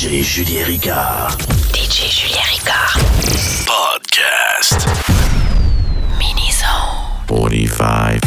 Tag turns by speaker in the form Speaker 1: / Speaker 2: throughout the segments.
Speaker 1: DJ Julien Ricard.
Speaker 2: DJ Julien Ricard.
Speaker 1: Podcast.
Speaker 2: Mini-zone.
Speaker 1: 45.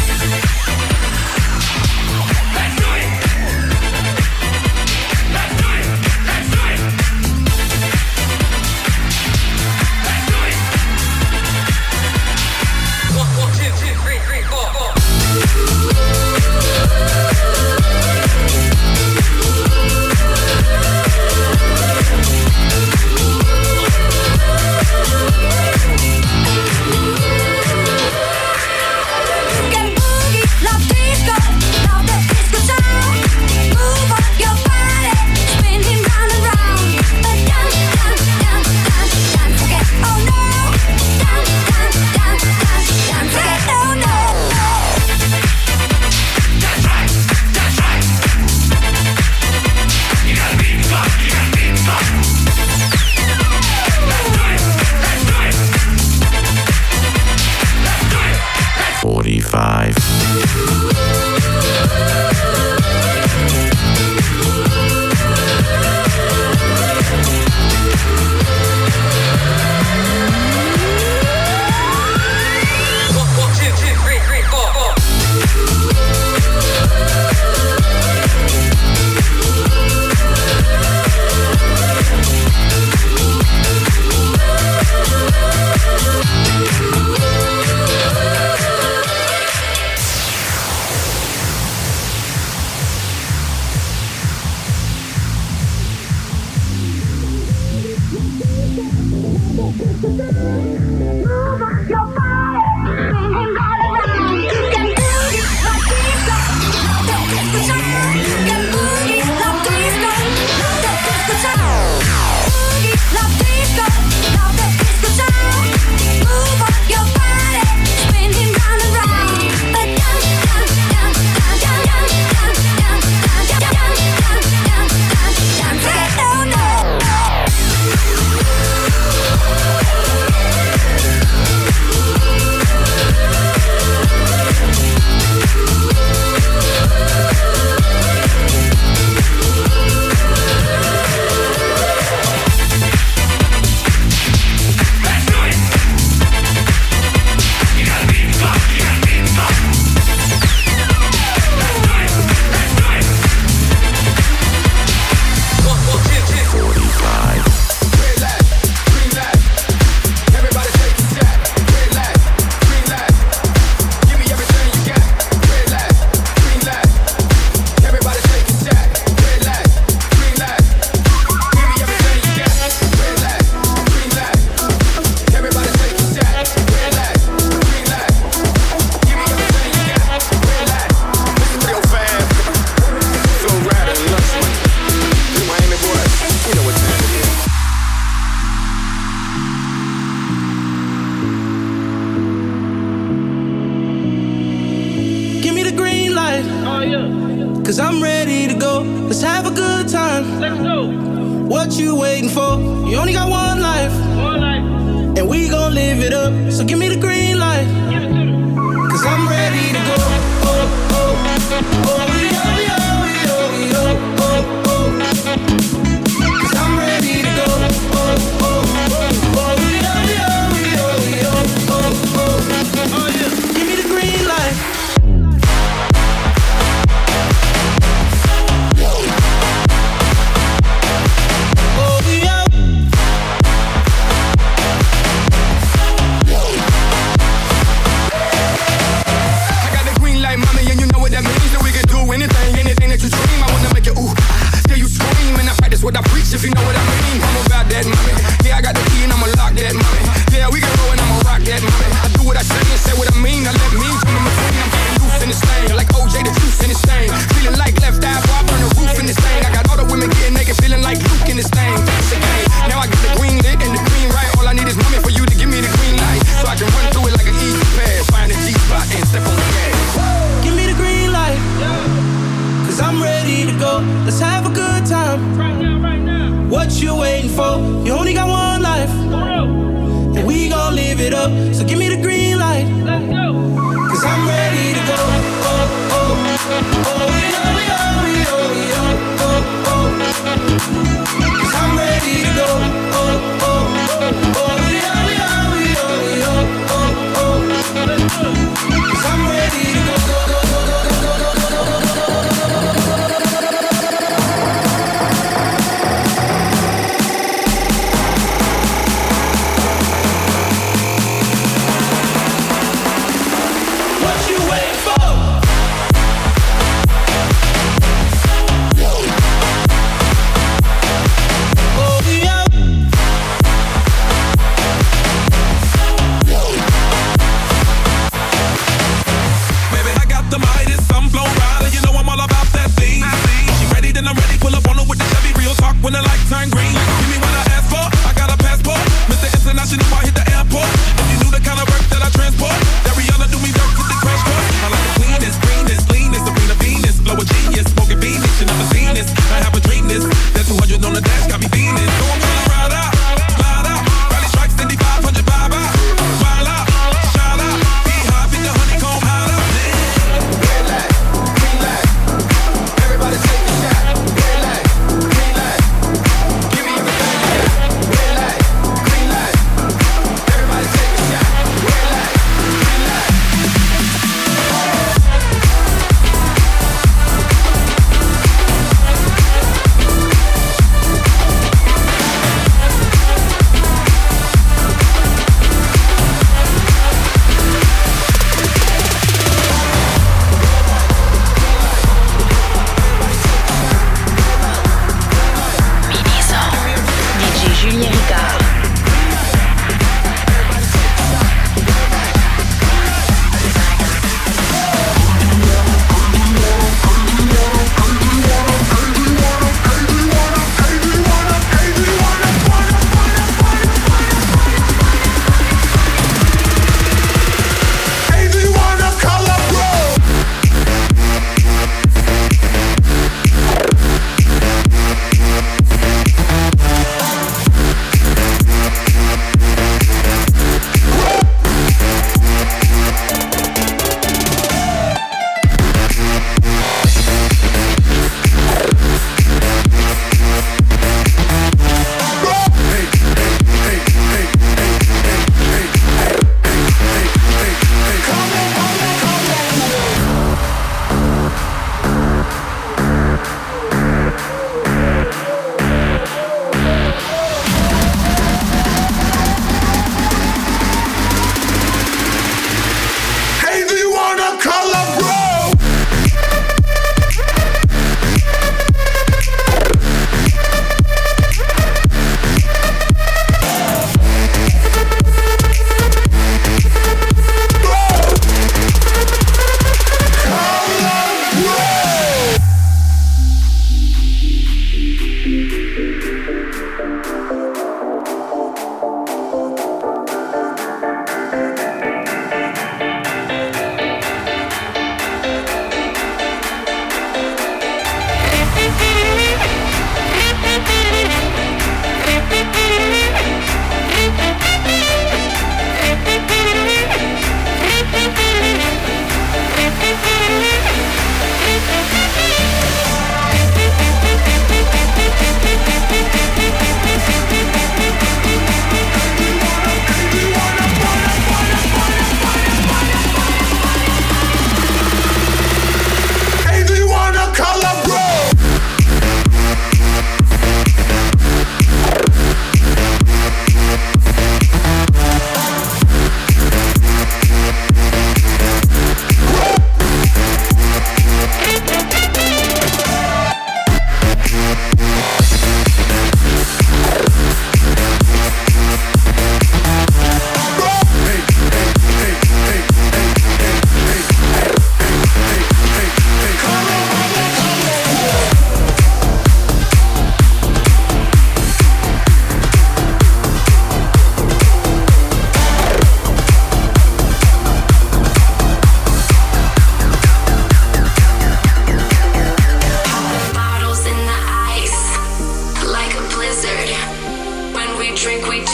Speaker 3: I'm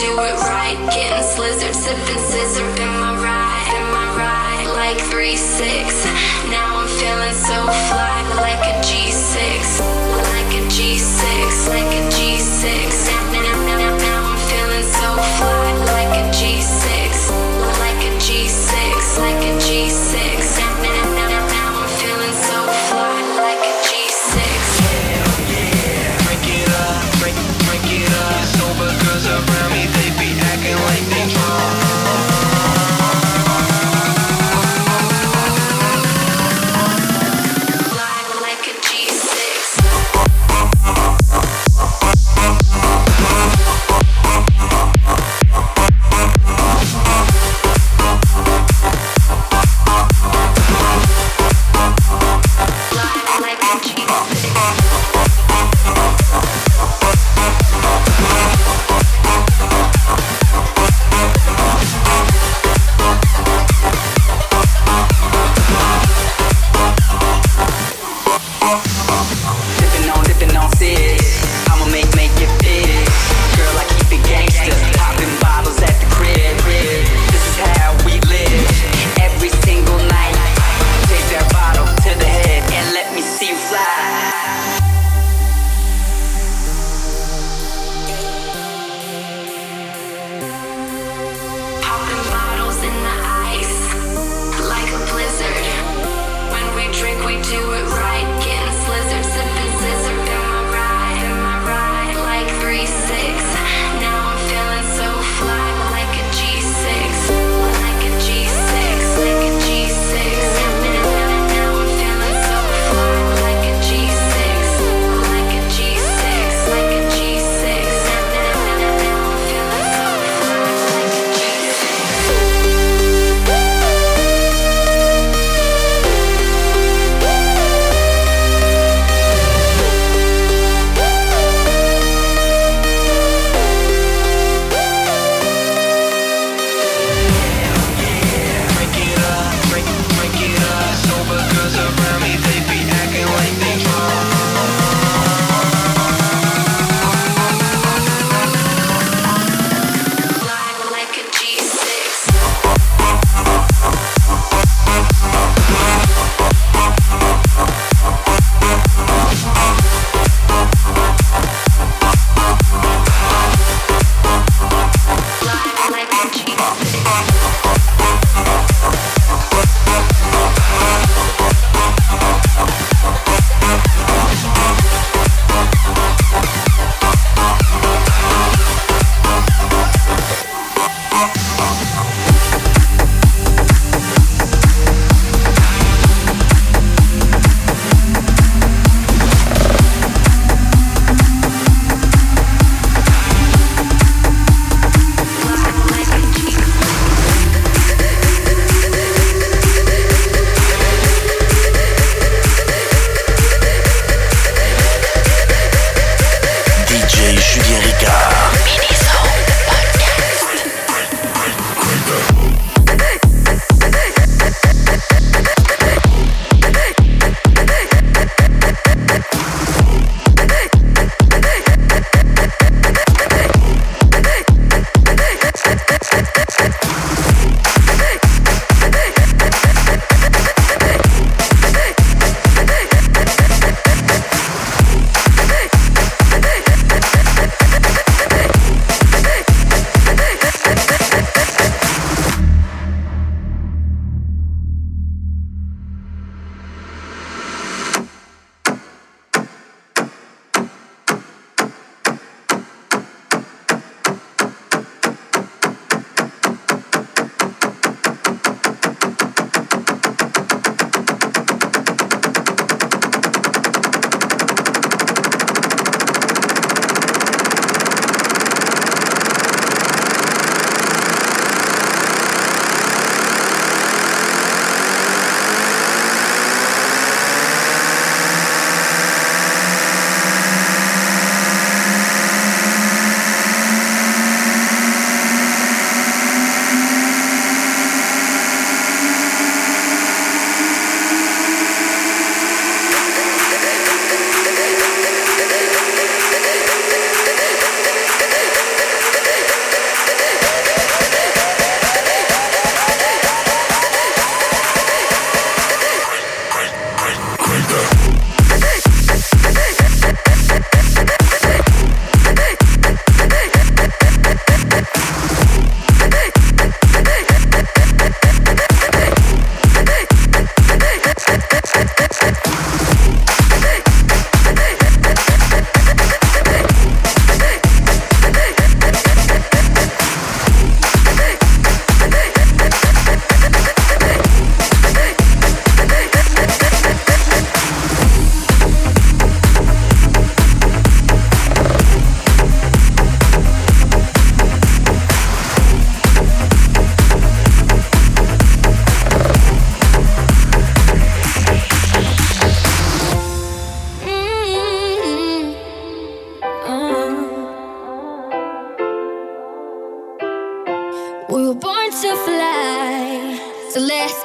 Speaker 3: do it right. Getting slizzard, sipping scissor in my ride, like 3-6. Now I'm feeling so fly, like a G6, like a G6, like a G6. Now I'm feeling so fly, like a G6, like a G6, like a G6. Now I'm feeling so fly, like a G6.
Speaker 4: Drink it up, drink it up. Sober girls around me, they be acting like they drunk.
Speaker 3: Like a G6.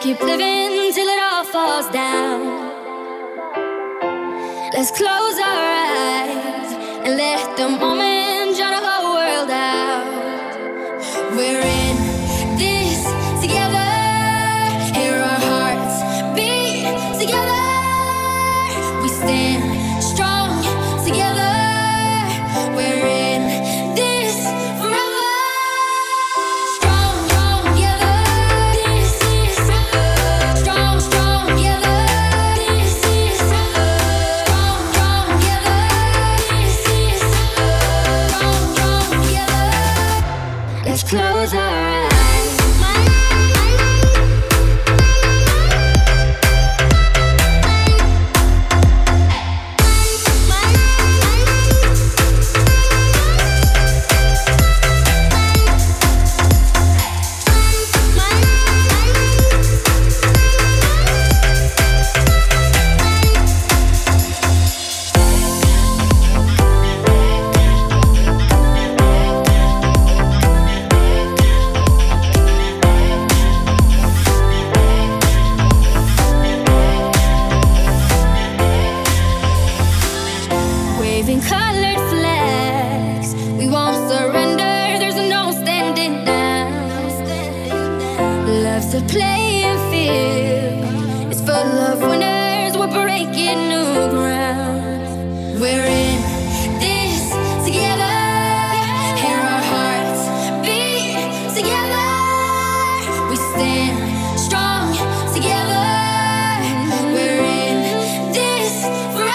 Speaker 3: keep living till it all falls down. Let's close our eyes and let the moment drown the whole world out. We're in this together. Hear our hearts beat together. We stand strong together. We're in this forever. Strong together. This is strong together. This is strong together. This is strong together. Let's close our eyes. Waving colored flags, we won't surrender. There's no standing down. Love's a playing field. It's full of winners. We're breaking new ground. We're in this together. Hear our hearts beat together. We stand strong together. We're in this forever.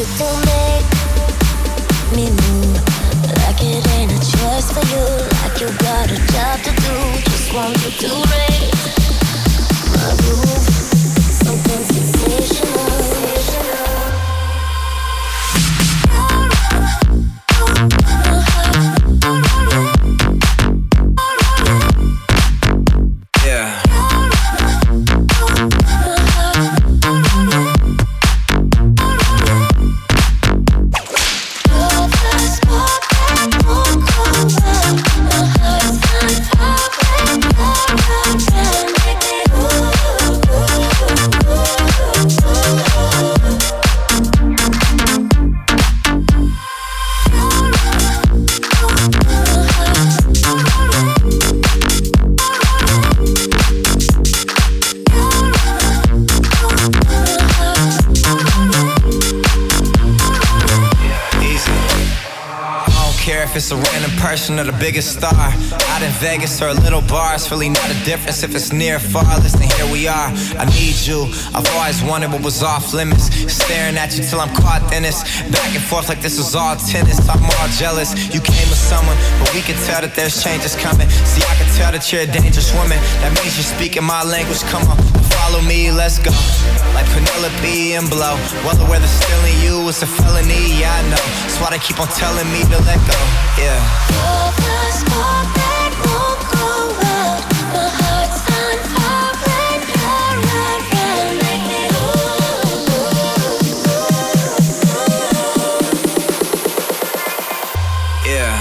Speaker 5: you to make me move like it ain't a choice for you, like you got a job to do. Just want you to raise my roof, something sensational.
Speaker 6: If it's a random person or the biggest star out in Vegas or a little bar, it's really not a difference if it's near or far. Listen, here we are, I need you. I've always wondered what was off limits, staring at you till I'm caught in this, back and forth like this was all tennis. I'm all jealous, you came with someone, but we can tell that there's changes coming. See, I can tell that you're a dangerous woman, that means you're speaking my language. Come on, follow me, let's go. Like Penelope and Blow, well, whether stealing you is a felony, yeah, I know. That's why they keep on telling me to let go. Yeah.
Speaker 5: You're the spark that won't go out. My heart's on fire when you're around. Make me
Speaker 6: Yeah.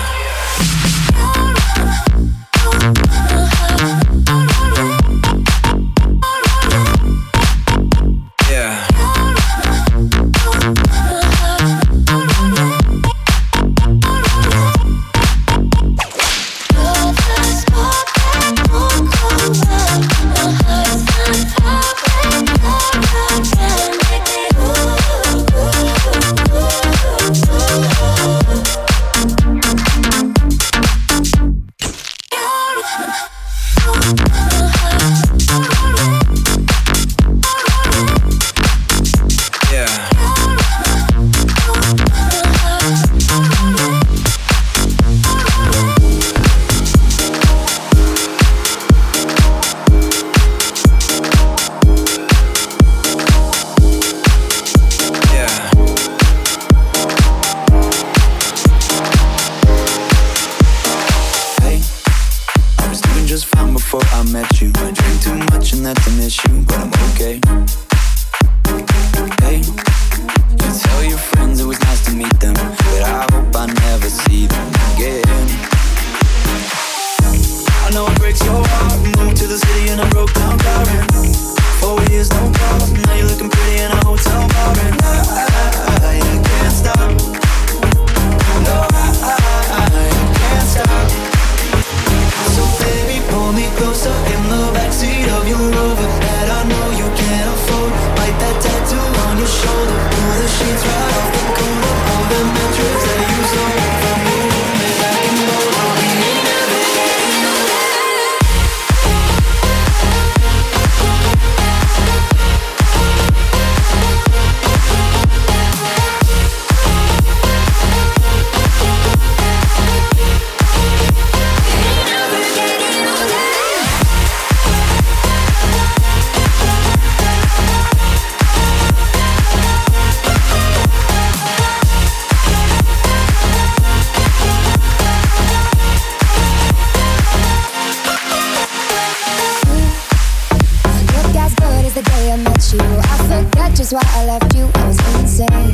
Speaker 5: why I left you, I was insane.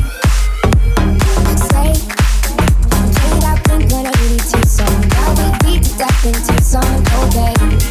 Speaker 5: Say, played out Blink-182 song. Now we beat to death in Tucson, okay.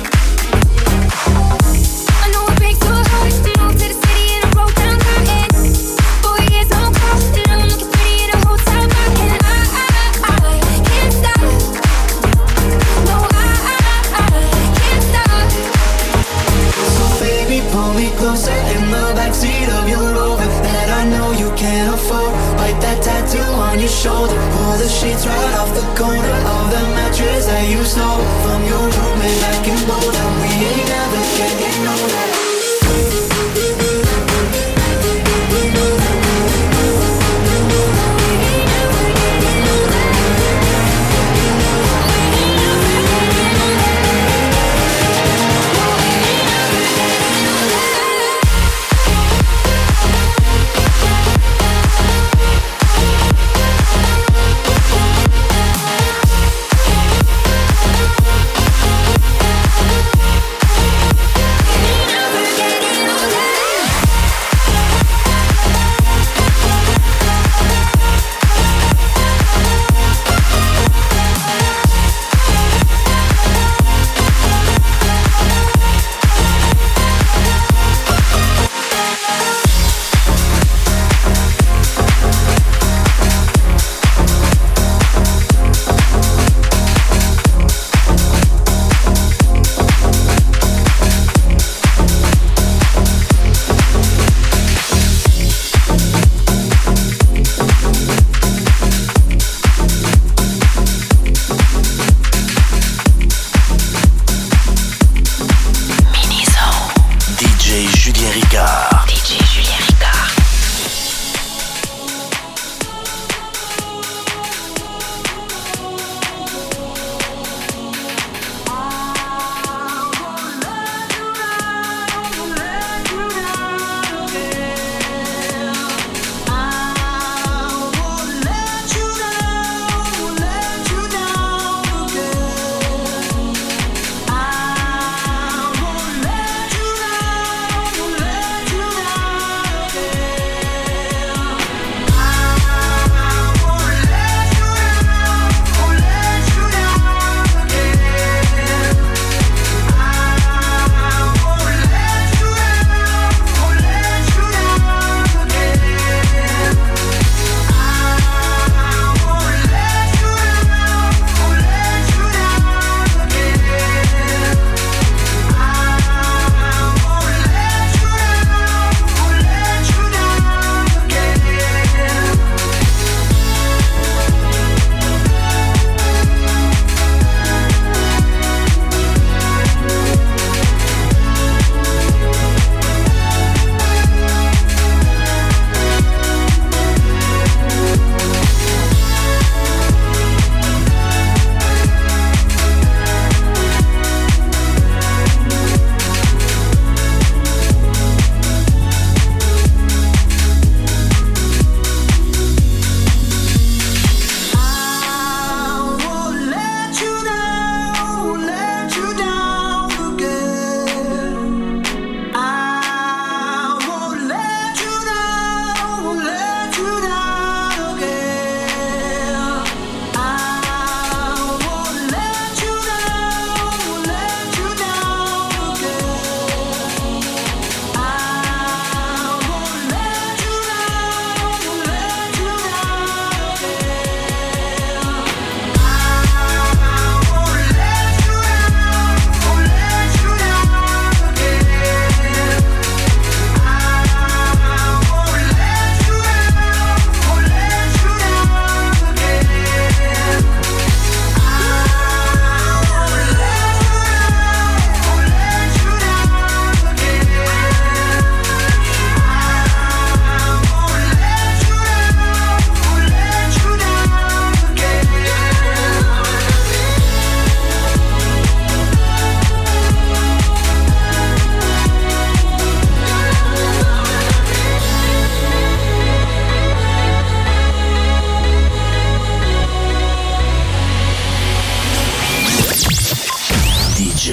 Speaker 5: I know it breaks your heart to move to the city and I broke down crying. 4 years on call and I'm looking pretty in a hotel bar. And I can't stop. No, I can't stop.
Speaker 7: So baby, pull me closer in the backseat of your Rover that I know you can't afford. Bite that tattoo on your shoulder. Pull the sheets right off the corner of the mattress that you stole from your roommate back in Boulder. We ain't never getting older.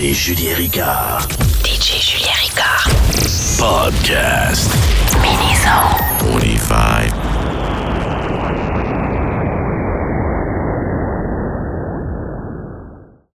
Speaker 1: DJ Julien Ricard.
Speaker 2: DJ Julien Ricard.
Speaker 1: Podcast.
Speaker 2: Mini-zone.
Speaker 1: On est